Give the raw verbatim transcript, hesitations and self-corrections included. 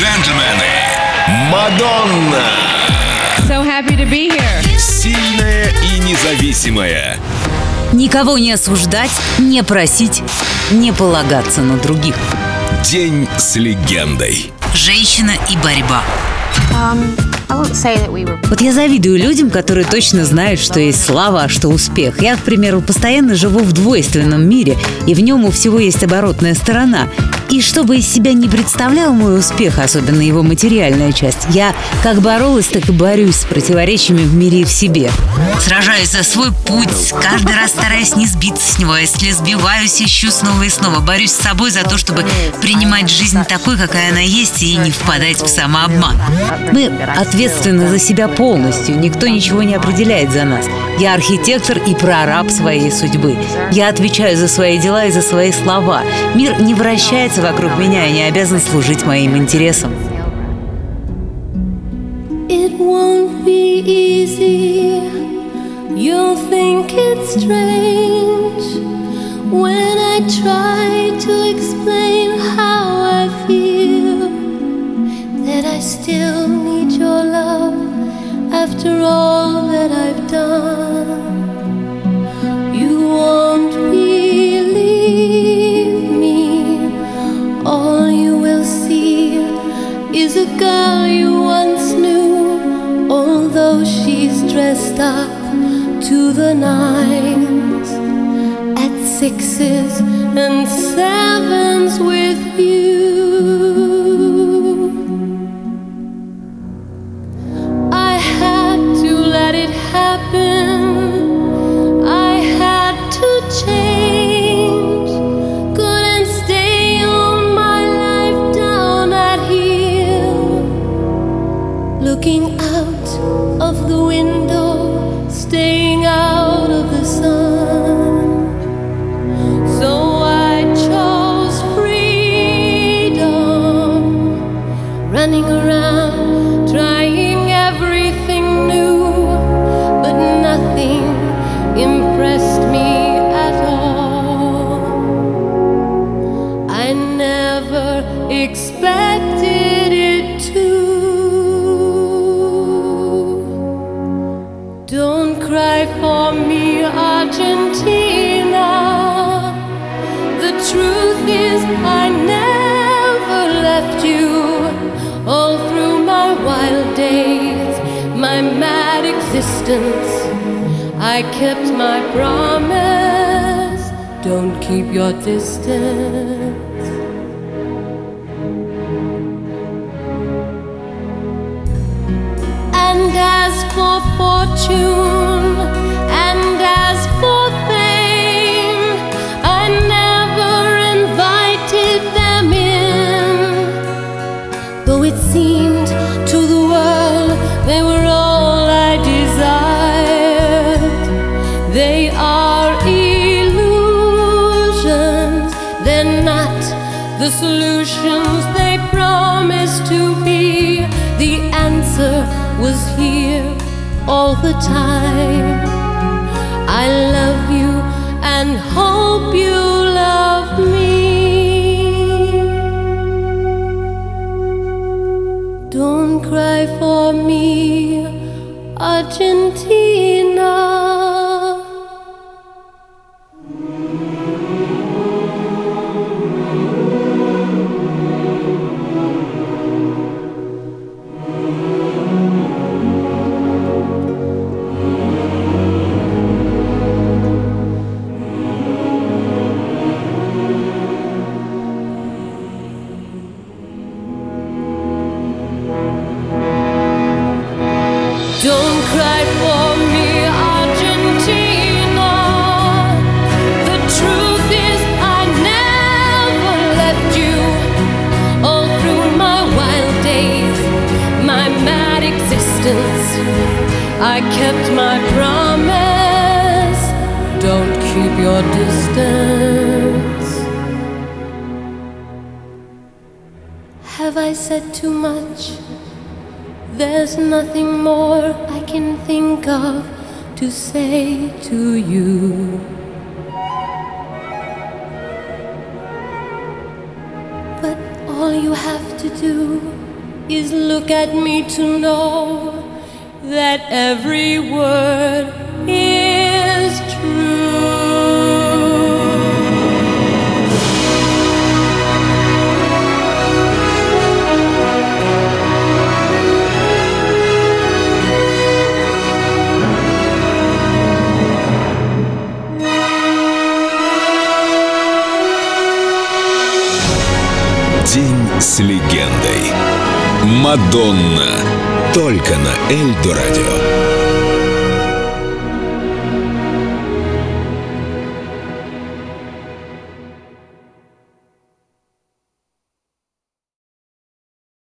джентльмены, Мадонна! So happy to be here. Сильная и независимая. Никого не осуждать, не просить, не полагаться на других. День с легендой. Женщина и борьба. Um, I won't say that we were... Вот я завидую людям, которые точно знают, что есть слава, а что успех. Я, к примеру, постоянно живу в двойственном мире, и в нем у всего есть оборотная сторона. И что бы из себя не представлял мой успех, особенно его материальная часть, я как боролась, так и борюсь с противоречиями в мире и в себе. Сражаюсь за свой путь, каждый раз стараясь не сбиться с него. А если сбиваюсь, ищу снова и снова. Борюсь с собой за то, чтобы принимать жизнь такой, какая она есть, и не впадать в самообман. Мы ответственны за себя полностью, никто ничего не определяет за нас. Я архитектор и прораб своей судьбы. Я отвечаю за свои дела и за свои слова. Мир не вращается вокруг меня и не обязан служить моим интересам. It won't be easy. You'll think it's strange when I try to explain how I feel, that I still need your love after all that I've done. You won't believe me. All you will see is a girl you once knew, although she's dressed up to the nines, at sixes and sevens with you. I had to let it happen. I had to change. Couldn't stay on my life down at heel, looking out of the window, staying out of the sun. So I chose freedom, running around, trying everything new, but nothing impressed me at all. I never expected it to. Don't cry for me, Argentina. The truth is I never left you. All through my wild days, my mad existence, I kept my promise. Don't keep your distance. And as for fortune, and as for fame, I never invited them in, though it seemed to the world they were all I desired. They are illusions, they're not the solutions they promised to be. The answer was here all the time. I love you and hope you love me. Don't cry for me, Argentina. Don't cry for me, Argentina. The truth is I never left you. All through my wild days, my mad existence, I kept my promise. Don't keep your distance. Have I said too much? There's nothing more I can think of to say to you. But all you have to do is look at me to know that every word is true. День с легендой. Мадонна. Только на Эльдо радио.